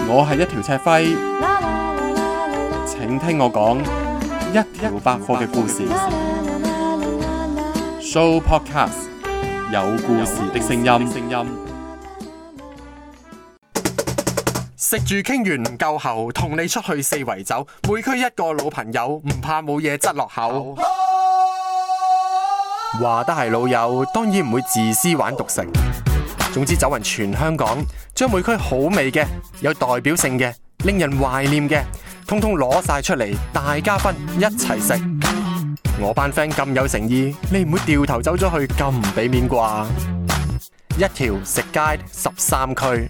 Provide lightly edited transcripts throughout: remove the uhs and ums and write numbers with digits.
我係一條赤輝，請聽我講一條百貨嘅故事。Show Podcast 有故事的聲音。食住傾完唔夠喉，同你出去四圍走，每區一個老朋友，唔怕冇嘢擠落口。話得係老友，當然唔會自私玩獨食。總之走勻全香港，將每區好味嘅、有代表性嘅、令人懷念嘅，通通攞晒出嚟，大家分一齊食。我班 friend 咁有誠意，你唔會掉頭走咗去咁唔俾面啩？一條食街13區。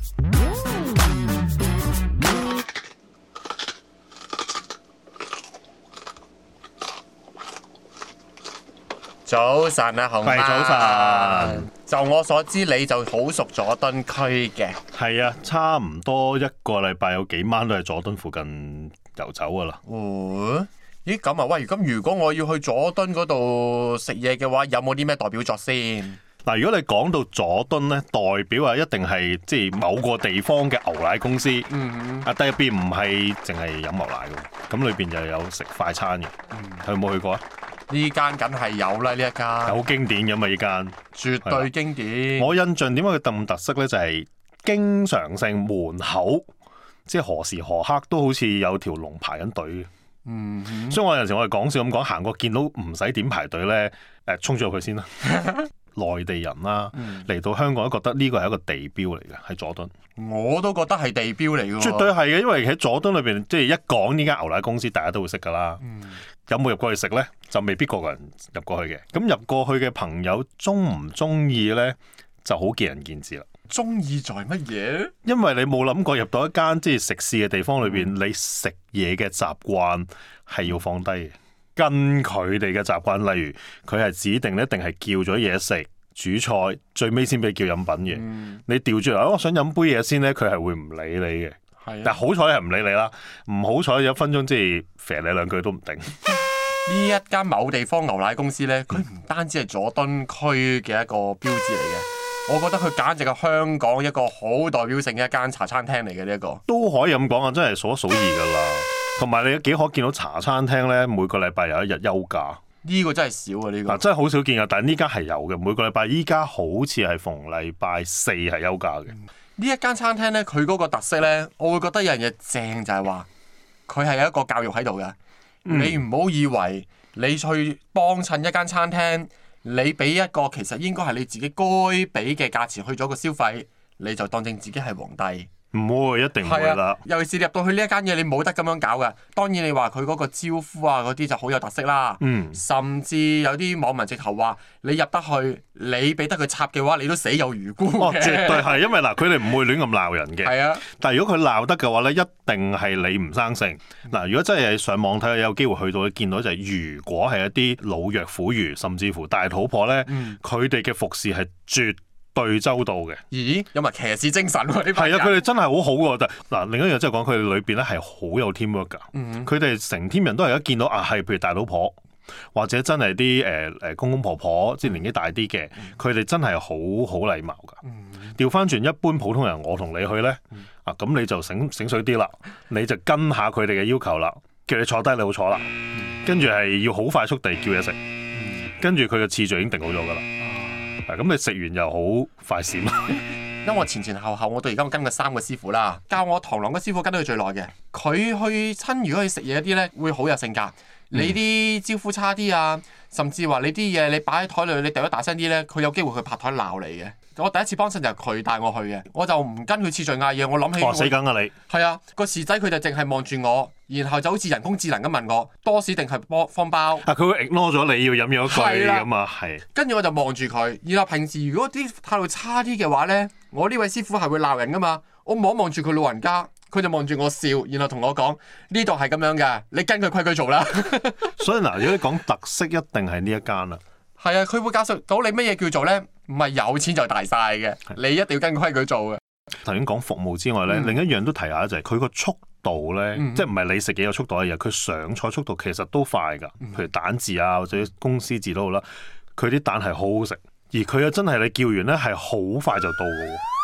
早晨啊，紅媽。 早晨。 就我所知，你就好熟佐敦區嘅。 係啊，差唔多一個禮拜有幾晚都係佐敦附近遊走噶啦。 咦咁啊？喂，咁如果我要去佐敦嗰度食嘢嘅話，有冇啲咩代表作先？ 嗱，如果你講到佐敦咧，代表啊一定係即係某個地方嘅牛奶公司。但入邊唔係淨係飲牛奶嘅，咁裏邊又有食快餐嘅。佢有冇去過啊？ 呢間梗係有啦，呢一間好經典嘅嘛，呢間絕對經典。 我印象點解佢咁特色咧？就係經常性門口，即係何時何刻都好似有條龍排緊隊嘅。所以我有陣時我哋講笑咁講，行過見到唔使點排隊咧，衝咗入去先啦。內地人啦，嚟到香港都覺得呢個係一個地標嚟嘅，喺佐敦。 我都覺得係地標嚟嘅。 絕對係嘅，因為喺佐敦裏邊，即係一講呢間牛奶公司，大家都會識㗎啦。有冇入過去食咧？就未必個個人入過去嘅。咁入過去嘅朋友鍾唔鍾意咧，就好見仁見智啦。 鍾意在乜嘢？因為你冇諗過入到一間即係食肆嘅地方裏邊，你食嘢嘅習慣係要放低嘅。跟佢哋嘅習慣，例如佢係指定一定係叫咗嘢食、煮菜，最尾先俾叫飲品嘅。你調轉嚟，我想飲杯嘢先咧，佢係會唔理你嘅。但好彩係唔理你啦，唔好彩有1分鐘即係肥你2句都唔定。 呢一間某地方牛奶公司咧，佢唔單止係佐敦區嘅一個標誌嚟嘅，我覺得佢簡直係香港一個好代表性嘅一間茶餐廳嚟嘅。呢一個都可以咁講啊，真係數一數二㗎啦。同埋你幾可見到茶餐廳咧，每個禮拜有一日休假。呢個真係少啊！呢個真係好少見㗎，但係呢間係有嘅。每個禮拜依家好似係逢禮拜4係休假嘅。呢一間餐廳咧，佢嗰個特色咧，我會覺得有樣嘢正就係話，佢係有一個教育喺度嘅。你唔好以為你去幫襯一間餐廳，你俾一個其實應該係你自己該俾嘅價錢去咗個消費，你就當正自己係皇帝。唔會，一定唔會啦。尤其是你入到去呢一間嘢，你冇得咁樣搞㗎。當然你話佢嗰個招呼啊嗰啲就好有特色啦。甚至有啲網民直頭話，你入得去，你俾得佢插嘅話，你都死有餘辜嘅。絕對係，因為嗱，佢哋唔會亂咁鬧人嘅。係啊。但係如果佢鬧得嘅話咧，一定係你唔生性。嗱，如果真係上網睇，有機會去到，見到就係如果係一啲老弱婦孺，甚至乎大肚婆咧，佢哋嘅服侍係絕對周到嘅。咦？有埋騎士精神喎！呢排係啊，佢哋真係好好㗎。嗱，另一樣即係講佢哋裏邊咧係好有 teamwork 㗎。佢哋成 team 人都係一見到啊，係譬如大老婆或者真係啲公公婆婆，即係年紀大啲嘅，佢哋真係好禮貌㗎。調翻轉一般普通人，我同你去咧咁你就醒水啲啦，你就跟下佢哋嘅要求啦，叫你坐低你好坐啦，跟住係要好快速地叫嘢食，跟住佢嘅次序已經定好咗㗎啦。咁你食完又好快閃。因為我前後我到而家我跟過3個師傅啦，教我螳螂嘅師傅跟得佢最耐嘅。佢去親如果去食嘢啲咧，會好有性格。你啲招呼差啲啊，甚至話你啲嘢你擺喺台裏，你掉得大聲啲咧，佢有機會去拍台鬧你嘅。我第一次幫襯就係佢帶我去嘅，我就唔跟佢次序嗌嘢，我諗起死梗啊你。係啊，個侍仔佢就淨係望住我，然後就好似人工智能咁問我多士定係方包。佢會 ignore 咗你要飲咗一句咁啊，係。跟住我就望住佢，然後平時如果啲態度差啲嘅話咧，我呢位師傅係會鬧人噶嘛，我望住佢老人家。佢就望住我笑，然後同我講呢度係咁樣嘅，你跟佢規矩做啦。所以嗱，如果你講特色，一定係呢一間啦。係啊，佢會教識到你乜嘢叫做咧，唔係有錢就大晒嘅，你一定要跟規矩做嘅。頭先講服務之外咧，另一樣都提下就係佢個速度咧，即係唔係你食嘢嘅速度嘅嘢，佢上菜速度其實都快㗎。譬如蛋治啊，或者公司治都好啦，佢啲蛋係好好食，而佢又真係你叫完咧係好快就到㗎喎。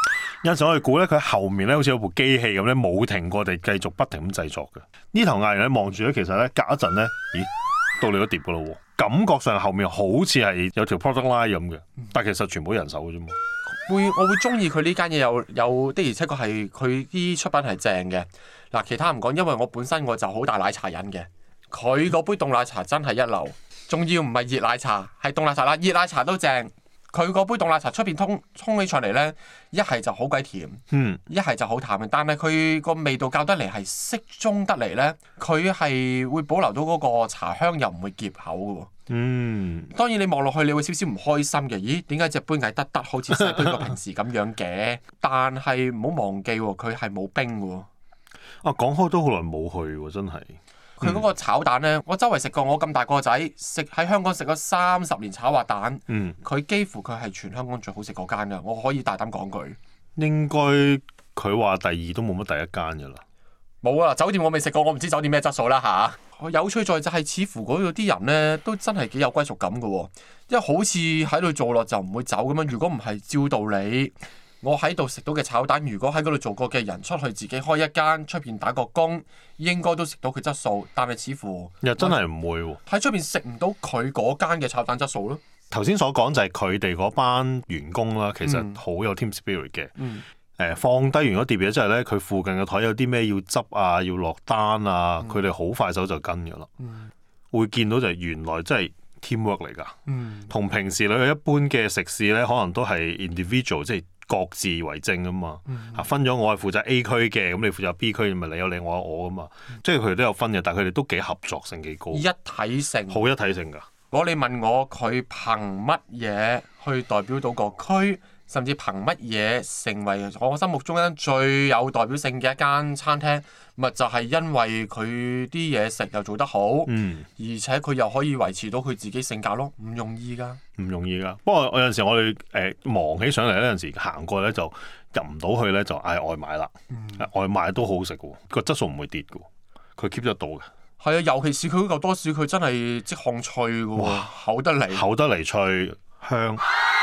有陣時我哋估咧，佢後面咧好似有部機器咁咧，冇停過地繼續不停咁製作嘅。呢頭藝人咧望住咧，其實咧隔一陣咧，咦，到你嗰碟噶咯喎，感覺上後面好似係有條 product line 咁嘅，但其實全部人手嘅啫嘛。 我會中意佢呢間嘢有的而且確係佢啲出品係正嘅。嗱，其他唔講，因為我本身我就好大奶茶癮嘅。佢嗰杯凍奶茶真係一流，仲要唔係熱奶茶，係凍奶茶啦。熱奶茶都正，佢嗰杯凍奶茶出邊沖起上嚟咧，一係就好鬼甜，一係就好淡嘅。但係佢個味道較得嚟係適中得嚟咧，佢係會保留到嗰個茶香，又唔會澀口嘅喎。當然你望落去，你會少少唔開心嘅。咦？點解隻杯矮得好似細杯過平時咁樣嘅？但係唔好忘記喎，佢係冇冰嘅喎。 啊，講開都好耐冇去喎，真係。 佢嗰個炒蛋咧，我周圍食過，我咁大個仔食喺香港食咗30年炒滑蛋，佢幾乎佢係全香港最好食嗰間㗎，我可以大膽講句。 應該佢話第二都冇乜第一間㗎啦。 冇啊！酒店我未食過，我唔知酒店咩質素啦嚇。有趣在就係似乎嗰度啲人咧都真係幾有歸屬感嘅喎，因為好似喺度做落就唔會走咁樣。如果唔係照道理，我喺度食到嘅炒蛋，如果喺嗰度做過嘅人出去自己開一間出邊打個工，應該都食到佢質素。但係似乎又真係唔會喎， 喺出邊食唔到佢嗰間嘅炒蛋質素咯。 頭先所講就係佢哋嗰班員工啦，其實好有 team spirit 嘅。放低完嗰碟嘢之後咧，佢附近嘅台有啲咩要執啊，要落單啊，佢哋好快手就跟㗎啦。會見到就係原來真係 teamwork 嚟㗎。同平時你去一般嘅食肆咧，可能都係 individual，即係各自為政啊嘛。分咗我係負責 A 區嘅，咁你負責 B 區，咪你有你，我有我啊嘛。即係佢哋都有分嘅，但係佢哋都幾合作性幾高。 一體性。好一體性㗎。 如果你問我佢憑乜嘢去代表到個區？甚至憑乜嘢成為我心目中一間最有代表性嘅一間餐廳，咪就係因為佢啲嘢食又做得好，而且佢又可以維持到佢自己性格咯，唔容易㗎。唔容易㗎。不過有陣時我哋忙起上嚟咧，有陣時行過咧就入唔到去咧，就嗌外賣啦。外賣都好食嘅喎，個質素唔會跌嘅喎，佢 keep 得到嘅。係啊，尤其是佢嗰嚿多士，佢真係即烘脆嘅喎，厚得嚟脆香。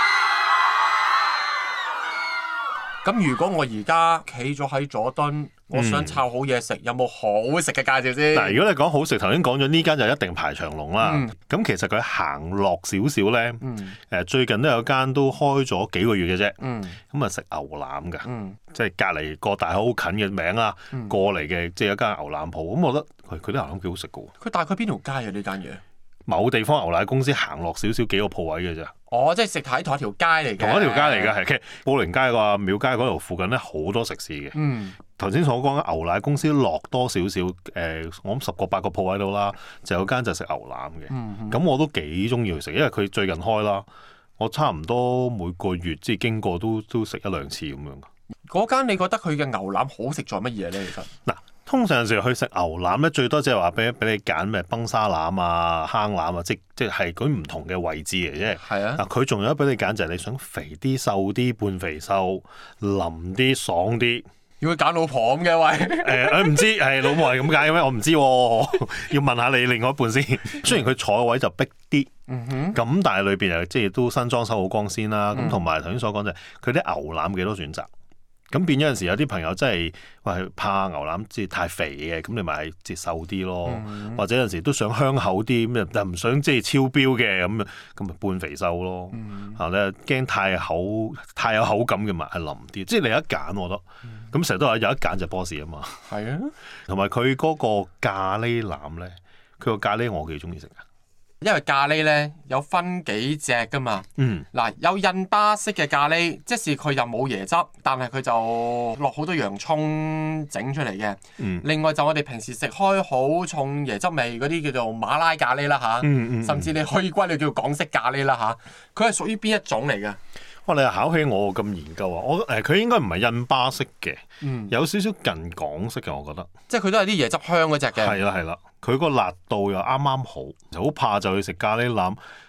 咁如果我而家企咗喺佐敦，我想抄好嘢食，有冇好食嘅介紹先？嗱，如果你講好食，頭先講咗呢間就一定排長龍啦。咁其實佢行落少少咧，最近都有間都開咗幾個月嘅啫。咁啊食牛腩㗎，即係隔離個大好近嘅名啦，過嚟嘅即係一間牛腩鋪。咁我覺得佢啲牛腩幾好食㗎喎。佢大概邊條街啊？呢間嘢？某地方牛奶公司行落少少幾個鋪位嘅啫。即係食喺同一條街嚟嘅。同一條街嚟嘅係，其實寶靈街個廟街嗰度附近咧好多食肆嘅。頭先所講嘅牛奶公司落多少少，我諗10個8個鋪位度啦，就有間就食牛腩嘅。咁我都幾中意去食，因為佢最近開啦，我差唔多每個月即係經過都食1-2次咁樣。嗰間你覺得佢嘅牛腩好食在乜嘢咧？其實嗱。通常有時去食牛腩咧，最多即係話俾你揀咩崩沙腩啊、坑腩啊，即係嗰啲唔同嘅位置嚟啫。係啊，嗱佢仲有俾你揀就係你想肥啲、瘦啲、半肥瘦、腍啲、爽啲。要佢揀老婆咁嘅位？唔知係老婆係咁揀嘅咩？我唔知喎，要問下你另外一半先。雖然佢坐嘅位就逼啲，咁但係裏邊又即係都新裝修好光鮮啦。咁同埋頭先所講就係佢啲牛腩幾多選擇。咁變咗有陣時有啲朋友真係話怕牛腩即係太肥嘅，咁你咪係瘦啲咯。或者有陣時都想香口啲，咁又唔想即係超標嘅，咁咪半肥瘦咯。你驚太有口感嘅咪係腍啲。即係你有一揀，我覺得。咁成日都話有一揀就 boss 啊嘛。係啊。同埋佢嗰個咖喱腩咧，佢個咖喱我幾中意食㗎。因為咖喱咧有分幾隻噶嘛，嗱有印巴式嘅咖喱，即是佢又冇椰汁，但係佢就落好多洋葱整出嚟嘅。另外就我哋平時食開好重椰汁味嗰啲叫做馬拉咖喱啦嚇，甚至你可以歸類叫港式咖喱啦嚇，佢係屬於邊一種嚟嘅？哇！你又考起我咁研究啊！佢應該唔係印巴式嘅，有少少近港式嘅，我覺得。即係佢都係啲椰汁香嗰隻嘅。係啦。佢個辣度又啱啱好，好怕就去食咖喱腩，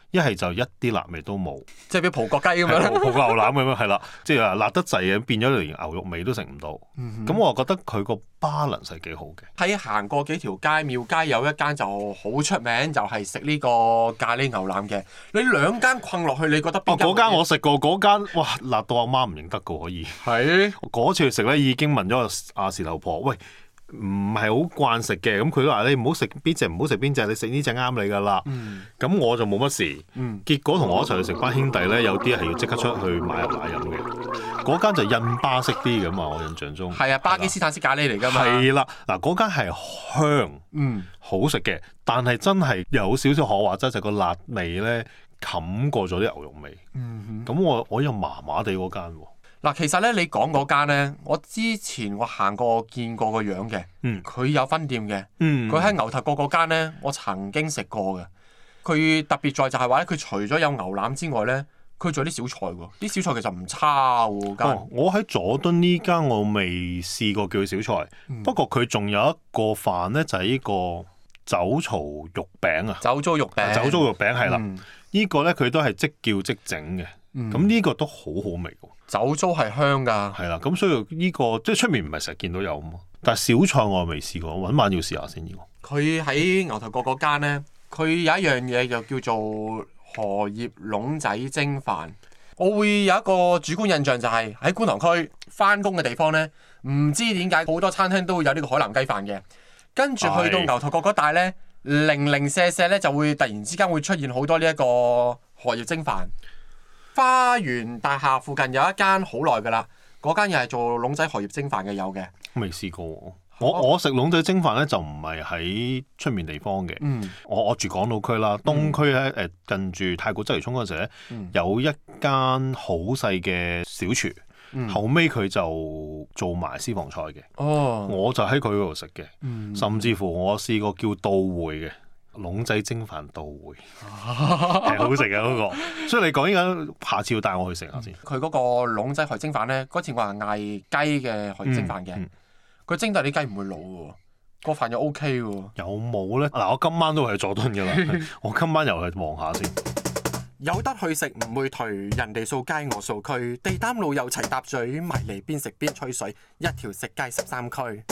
一係就一啲辣味都冇， 即係比葡國雞咁樣， 葡國牛腩咁樣係啦，即係辣得滯嘅，變咗連牛肉味都食唔到。咁我覺得佢個 balance 係幾好嘅。 喺行過幾條街，廟街有一間就好出名，就係食呢個咖喱牛腩嘅。你兩間困落去，你覺得邊間？ 嗰間我食過，嗰間哇辣到阿媽唔認得噶，可以。 係嗰次去食咧，已經問咗阿事頭婆，喂，唔係好慣食嘅，咁佢都話你唔好食邊隻，唔好食邊隻，你食呢隻啱你噶啦。咁我就冇乜事。結果同我一齊去食班兄弟咧，有啲係要即刻出去買入奶飲嘅。嗰間就印巴式啲㗎嘛，我印象中。係啊， 巴基斯坦式咖喱嚟㗎嘛。 係啦，嗱嗰間係香，好食嘅，但係真係有少少可話齋，就個辣味咧冚過咗啲牛肉味。咁我又麻麻地嗰間喎。 嗱，其實咧，你講嗰間咧，我之前我行過見過個樣嘅，佢有分店嘅，佢喺牛頭角嗰間咧，我曾經食過嘅。佢特別在就係話咧，佢除咗有牛腩之外咧，佢仲有啲小菜喎，啲小菜其實唔差喎間。 我喺佐敦呢間我未試過叫佢小菜，不過佢仲有一個飯咧，就係呢個酒槽肉餅啊。 酒糟肉餅係啦，呢個咧佢都係即叫即整嘅，咁呢個都好好味喎。 酒糟係香㗎。 係啦，咁所以呢個即係出面唔係成日見到有啊嘛，但係小菜我未試過，揾晚要試下先。 佢喺牛頭角嗰間咧，佢有一樣嘢就叫做荷葉籠仔蒸飯。我會有一個主觀印象就係喺觀塘區翻工嘅地方咧，唔知點解好多餐廳都會有呢個海南雞飯嘅。跟住去到牛頭角嗰帶咧，零零舍舍咧就會突然之間會出現好多呢一個荷葉蒸飯。花園大廈附近有一間好耐㗎啦，嗰間又係做籠仔荷葉蒸飯嘅，有嘅。 未試過喎。我食籠仔蒸飯咧就唔係喺出面地方嘅。我住港島區啦，東區咧近住太古鰂魚涌嗰陣時咧，有一間好細嘅小廚，後尾佢就做埋私房菜嘅。我就喺佢嗰度食嘅，甚至乎我試過叫到會嘅。籠仔蒸飯到會係好食嘅嗰個，所以你講依家下次要帶我去食下先。 佢嗰個籠仔荷葉蒸飯咧，嗰次我係嗌雞嘅荷葉蒸飯嘅，佢蒸得啲雞唔會老喎，個飯又 OK 喎。 有冇咧？嗱，我今晚都係佐敦㗎啦，我今晚又去望下先。 有得去食唔會頹，人哋掃街我掃區，地擔路又齊搭嘴，埋嚟邊食邊吹水，一條食街13區。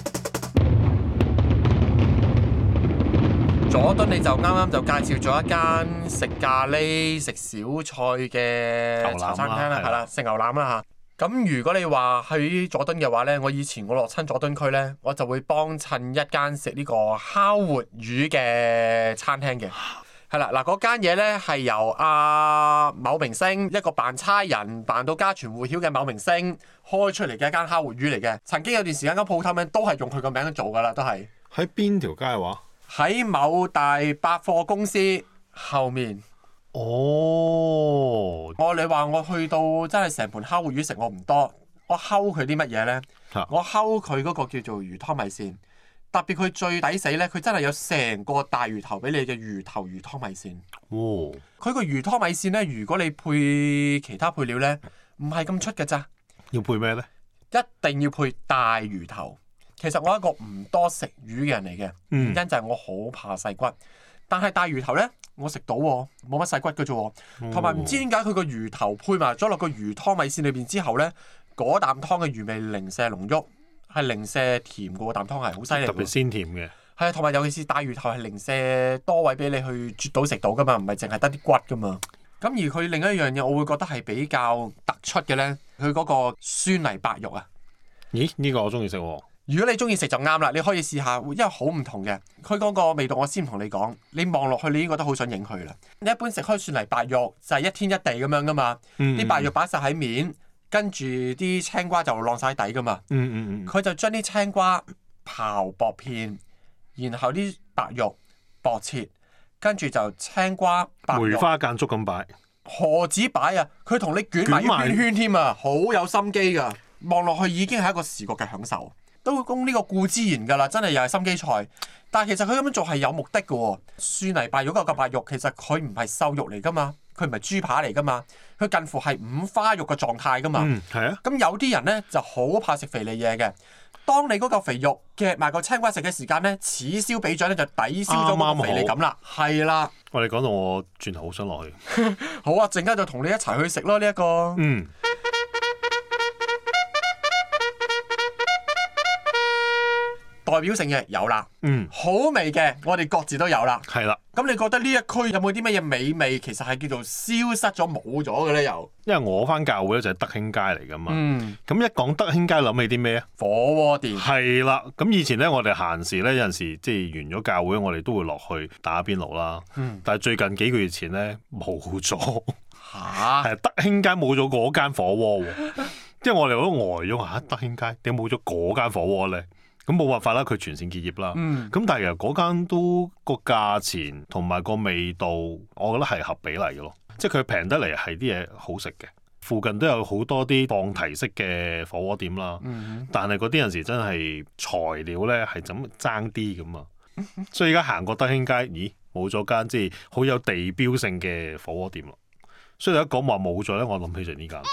佐敦你就啱啱就介紹咗一間食咖喱食小菜嘅茶餐廳啦，係啦，食牛腩啦嚇。咁如果你話去佐敦嘅話咧，我以前我落親佐敦區咧，我就會幫襯一間食呢個烤活魚嘅餐廳嘅。係啦，嗱嗰間嘢咧係由某明星一個扮差人扮到家傳戶曉嘅某明星開出嚟嘅一間烤活魚嚟嘅。曾經有段時間間鋪頭名都係用佢個名去做㗎啦，都係。 喺邊條街話？ 喺某大百貨公司後面。你話我去到真係成盤烤活魚食我唔多，我睺佢啲乜嘢呢？我睺佢嗰個叫做魚湯米線，特別佢最抵死呢，佢真係有成個大魚頭俾你嘅魚頭魚湯米線。佢個魚湯米線呢，如果你配其他配料呢，唔係咁出嘅咋。 要配咩呢？ 一定要配大魚頭。其實我係一個唔多食魚嘅人嚟嘅，原因就係我好怕細骨。但係大魚頭呢，我食到喎，冇乜細骨嘅啫。同埋唔知點解佢個魚頭配埋咗落個魚湯米線裏邊之後呢，嗰啖湯嘅魚味零舍濃郁，係零舍甜嘅喎，啖湯係好犀利。特別鮮甜嘅。 係啊，同埋尤其是大魚頭係零舍多位俾你去啜到食到噶嘛，唔係淨係得啲骨噶嘛。咁而佢另一樣嘢，我會覺得係比較突出嘅呢，佢嗰個酸泥白肉啊。 咦？呢個我中意食喎。 如果你中意食就啱啦，你可以試下，因為好唔同嘅。佢嗰個味道我先同你講，你望落去你已經覺得好想影佢啦。你一般食開酸泥白肉就係一天一地咁樣噶嘛，啲白肉擺晒喺面，跟住啲青瓜就晾晒底噶嘛。佢就將啲青瓜刨薄片，然後啲白肉薄切，跟住就青瓜白肉梅花間竹咁擺。 何止擺啊！佢同你捲埋一圈圈添啊，好有心機噶。望落去已經係一個視覺嘅享受。都供呢個顧之言㗎啦，真係又係心機菜。但係其實佢咁樣做係有目的嘅喎。蒜泥白肉嗰嚿白肉其實佢唔係瘦肉嚟㗎嘛， 佢唔係豬扒嚟噶嘛，佢近乎係五花肉嘅狀態噶嘛。 係啊。 咁有啲人咧就好怕食肥膩嘢嘅。當你嗰嚿肥肉夾埋個青瓜食嘅時間咧，此消彼長咧就抵消咗嗰個肥膩感啦。係啦。 我哋講到我轉頭好想落去。 好啊，陣間就同你一齊去食咯呢一個。代表性嘅有啦，好味嘅我哋各自都有啦。 係啦。 咁你覺得呢一區有冇啲乜嘢美味其實係叫做消失咗冇咗嘅咧？又因為我翻教會咧就係德興街嚟噶嘛。咁一講德興街諗起啲咩啊？ 火鍋店。係啦。咁以前咧我哋閒時咧有陣時即係完咗教會，我哋都會落去打邊爐啦。但係最近幾個月前咧冇咗。係德興街冇咗嗰間火鍋喎。即係我哋都呆咗嚇，德興街點解冇咗嗰間火鍋咧？咁冇辦法啦，佢全線結業啦。咁但係其實嗰間都個價錢同埋個味道，我覺得係合比例嘅咯。即係佢平得嚟係啲嘢好食嘅。附近都有好多啲放題式嘅火鍋店啦。但係嗰啲有時真係材料咧係怎爭啲咁啊。所以而家行過德興街，咦冇咗間即係好有地標性嘅火鍋店咯。所以一講話冇咗咧，我諗起就呢間。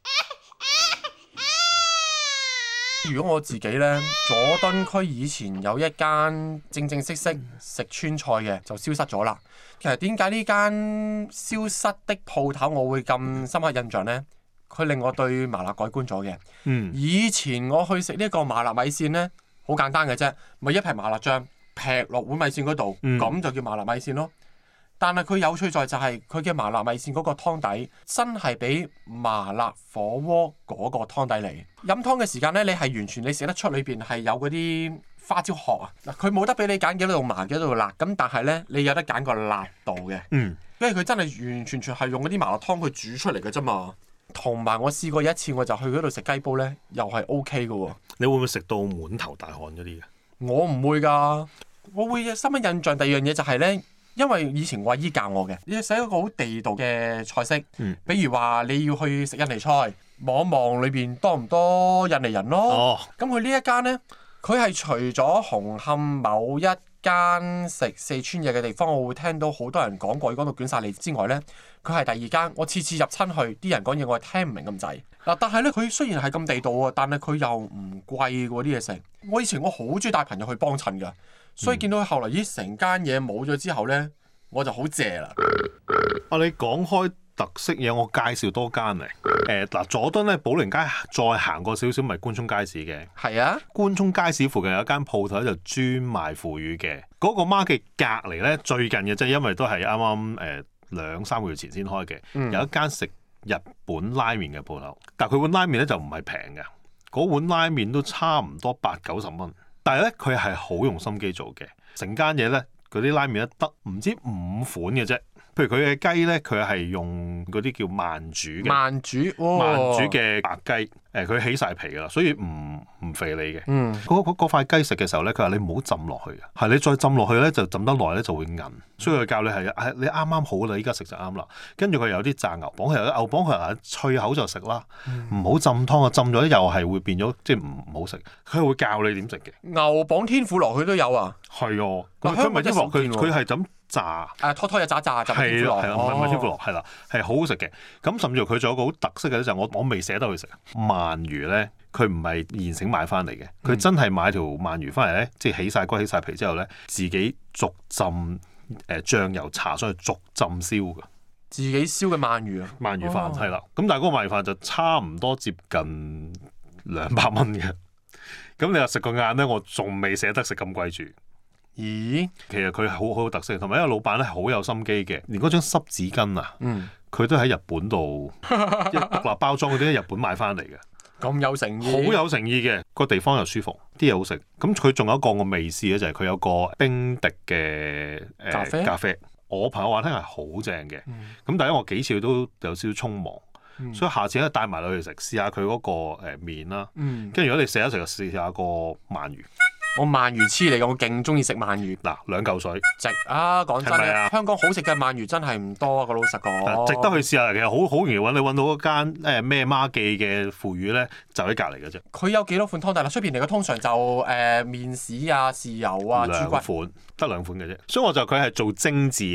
如果我自己呢，佐敦區以前有一間正式食川菜嘅，就消失咗啦。其實點解呢間消失的鋪頭我會咁深刻印象呢？佢令我對麻辣改觀咗嘅。以前我去食呢個麻辣米線呢，好簡單嘅啫，咪一劈麻辣醬劈落碗米線嗰度，咁就叫麻辣米線咯。但係佢有趣在就係佢嘅麻辣米線嗰個湯底真係比麻辣火鍋嗰個湯底嚟。飲湯嘅時間咧，你係完全你食得出裏邊係有嗰啲花椒殼啊。嗱，佢冇得俾你揀幾多度麻幾多度辣，咁但係咧你有得揀個辣度嘅。因為佢真係完完全全係用嗰啲麻辣湯去煮出嚟嘅啫嘛。同埋我試過有一次，我就去嗰度食雞煲咧，又係 OK 嘅喎。 你會唔會食到滿頭大汗嗰啲嘅？ 我唔會㗎，我會深刻印象。第二樣嘢就係咧。因為以前我阿姨教我嘅，你要寫一個好地道嘅菜式，比如話你要去食印尼菜，望一望裏邊多唔多印尼人咯。咁佢呢一間呢，佢係除咗紅磡某一間食四川嘢嘅地方，我會聽到好多人講過，講到捲晒脷之外呢，佢係第二間。我次次入親去，啲人講嘢我係聽唔明咁滯。嗱，但係呢，佢雖然係咁地道喎，但係佢又唔貴喎啲嘢食。我以前我好中意帶朋友去幫襯㗎。所以見到佢後來咦成間嘢冇咗之後咧，我就好謝啦。 你講開特色嘢，我介紹多間嚟。嗱，佐敦咧，寶靈街再行過少少，咪官涌街市嘅。係啊，官涌街市附近有一間鋪頭就專賣腐乳嘅。嗰個媽嘅隔離咧，最近嘅即係因為都係啱啱2-3個月前先開嘅，有一間食日本拉麵嘅鋪頭。但係佢碗拉麵咧就唔係平嘅，嗰碗拉麵都差唔多80-90蚊。但係咧，佢係好用心機做嘅，成間嘢咧，嗰啲拉麵咧得唔知5款嘅啫。譬如佢嘅雞咧，佢係用嗰啲叫慢煮嘅，慢煮嘅白雞，佢起晒皮噶啦，所以唔肥膩嘅。嗰塊雞食嘅時候咧，佢話你唔好浸落去啊，係你再浸落去咧，就浸得耐咧就會韌。所以佢教你係你啱啱好啦，依家食就啱啦。跟住佢有啲炸牛膀，佢有啲牛膀，佢話脆口就食啦，唔好浸湯啊，浸咗又係會變咗即係唔好食。佢係會教你點食嘅。牛膀天婦羅佢都有啊。係啊，佢唔係天婦羅，佢係咁炸。拖嘢炸就天婦羅。係啦，唔係天婦羅，係啦，係好好食嘅。咁甚至乎佢仲有個好特色嘅咧，就係我未捨得去食鰻魚咧。佢唔係現成買翻嚟嘅，佢真係買條鰻魚翻嚟咧，即係起晒骨起晒皮之後咧，自己逐浸醬油搽上去，逐浸燒㗎。自己燒嘅鰻魚啊？鰻魚飯係啦，咁但係嗰個鰻魚飯就差唔多接近200蚊嘅。咁你話食個晏咧，我仲未捨得食咁貴住。咦？其實佢好有特色，同埋因為老闆咧好有心機嘅，連嗰張濕紙巾啊，佢都喺日本度獨立包裝嗰啲喺日本買翻嚟嘅。咁有誠意，好有誠意嘅，個地方又舒服，啲嘢好食。咁佢仲有一個我未試嘅就係佢有個冰滴嘅咖啡。我朋友話聽係好正嘅。咁但係我幾次都有少少匆忙，所以下次咧帶埋你去食，試下佢嗰個麵啦。跟住如果你食一食就試下個鰻魚。我鰻魚黐嚟嘅，我勁中意食鰻魚。嗱，2嚿水，值啊！講真嘅，香港好食嘅鰻魚真係唔多啊！個老實講，值得去試下。其實好容易揾，你揾到嗰間咩媽記嘅腐乳咧，就喺隔離嘅啫。佢有幾多款湯底啦？出邊嚟嘅通常就麵豉啊、豉油啊、豬骨款，得2款嘅啫。所以我就佢係做精緻嘅，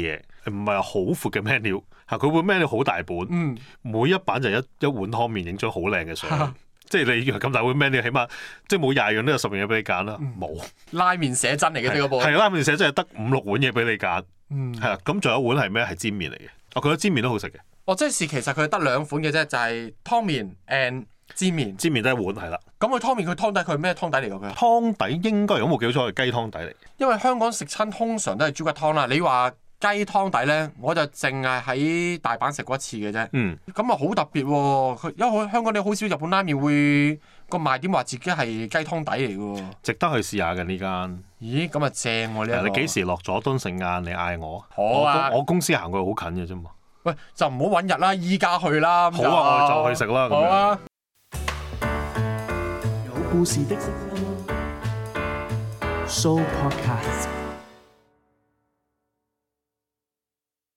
唔係好闊嘅 menu， 佢會 menu 好大本，每一版就一碗湯麵影張好靚嘅相。即係你咁大碗 menu， 起碼即係冇20樣都有10樣嘢俾你揀啦。冇拉麵寫真嚟嘅呢個部， 係拉麵寫真係得5-6碗嘢俾你揀。係啦，咁仲有一碗係咩？係煎麵嚟嘅。我覺得煎麵都好食嘅。 即係其實佢得2款嘅啫，就係湯麵 and 煎麵。 煎麵得一碗係啦。咁佢湯麵佢湯底佢係咩湯底嚟㗎？佢湯底應該如果冇記錯係雞湯底嚟。因為香港食親通常都係豬骨湯啦。你話雞湯底咧，我就淨係喺大阪食過一次嘅啫。咁啊好特別喎！因為香港你好少日本拉麵會個賣點話自己係雞湯底嚟㗎。值得去試下嘅呢間。 咦，咁啊正喎呢一個。 你幾時落佐敦食晏？你嗌我。 好啊。 我公司行過去好近嘅啫嘛。 喂，就唔好揾日啦，依家去啦。 好啊，我哋就去食啦。 好啊。 有故事的 Show Podcast。